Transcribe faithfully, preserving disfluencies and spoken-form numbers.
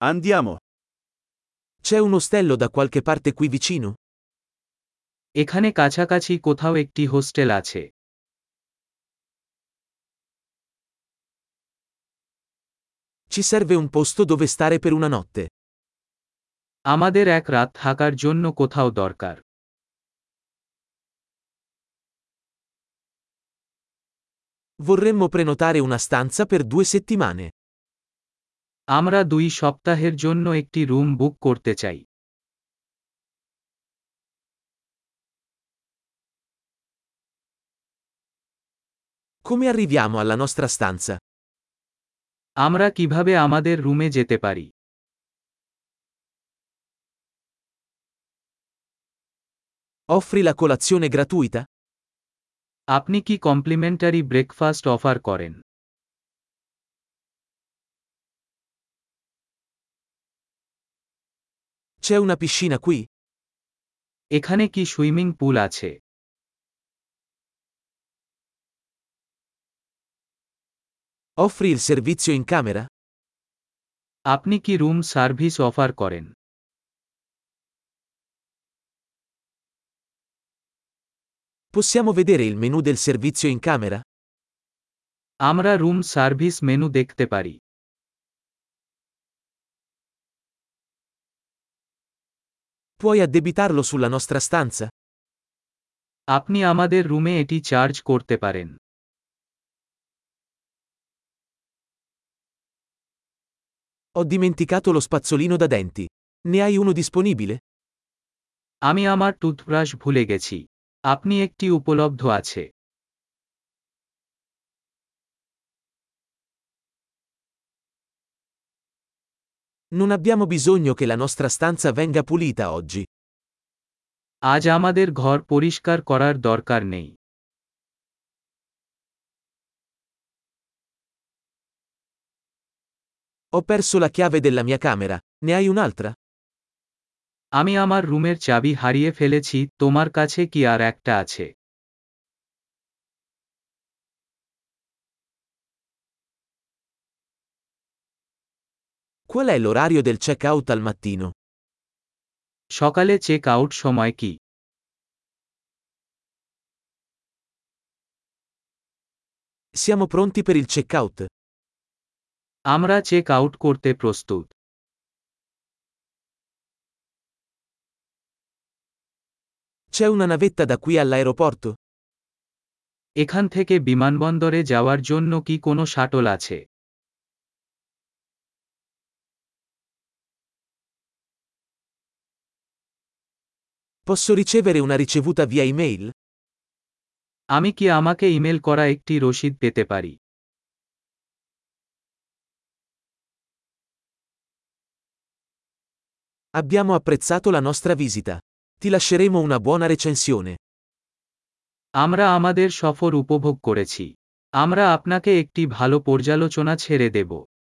Andiamo. C'è un ostello da qualche parte qui vicino? এখানে কাছাকাছি কোথাও একটি হোস্টেল আছে। Ci serve un posto dove stare per una notte. আমাদের এক রাত থাকার জন্য কোথাও দরকার। Vorremmo prenotare una stanza per due settimane. আমরা দুই সপ্তাহের জন্য একটি রুম বুক করতে চাই। Come arriviamo alla nostra stanza? আমরা কিভাবে আমাদের রুমে যেতে পারি? Offri la colazione gratuita? আপনি কি কমপ্লিমেন্টারি ব্রেকফাস্ট অফার করেন? C'è una piscina qui? এখানে কি সুইমিং পুল আছে? Offri il servizio in camera? আপনি কি রুম সার্ভিস অফার করেন? Possiamo vedere il menù del servizio in camera? আমরা রুম সার্ভিস মেনু দেখতে পারি। Puoi addebitarlo sulla nostra stanza? আপনি আমাদের রুমে এটি চার্জ করতে পারেন। Ho dimenticato lo spazzolino da denti. Ne hai uno disponibile? আমি আমার টুথব্রাশ ভুলে গেছি। আপনি একটি উপলব্ধ আছে? Non abbiamo bisogno che la nostra stanza venga pulita oggi. আজ আমাদের ঘর পরিষ্কার করার দরকার নেই। Ho perso la chiave della mia camera. Ne hai un'altra? আমি আমার রুমের চাবি হারিয়ে ফেলেছি, তোমার কাছে কি আর একটা আছে? Qual è l'orario del check-out al mattino? সকালে চেক আউট সময় কি? Siamo pronti per il check-out. আমরা চেক আউট করতে প্রস্তুত। C'è una navetta da qui all'aeroporto? এখান থেকে বিমানবন্দরে যাওয়ার জন্য কি কোনো শাটল আছে? Posso ricevere una ricevuta via email? আমি কি আমাকে ইমেল করা একটি রসিদ পেতে পারি? Abbiamo apprezzato la nostra visita. Ti lasceremo una buona recensione. আমরা আমাদের সফর উপভোগ করেছি। আমরা আপনাকে একটি ভালো পর্যালোচনা ছেড়ে দেব।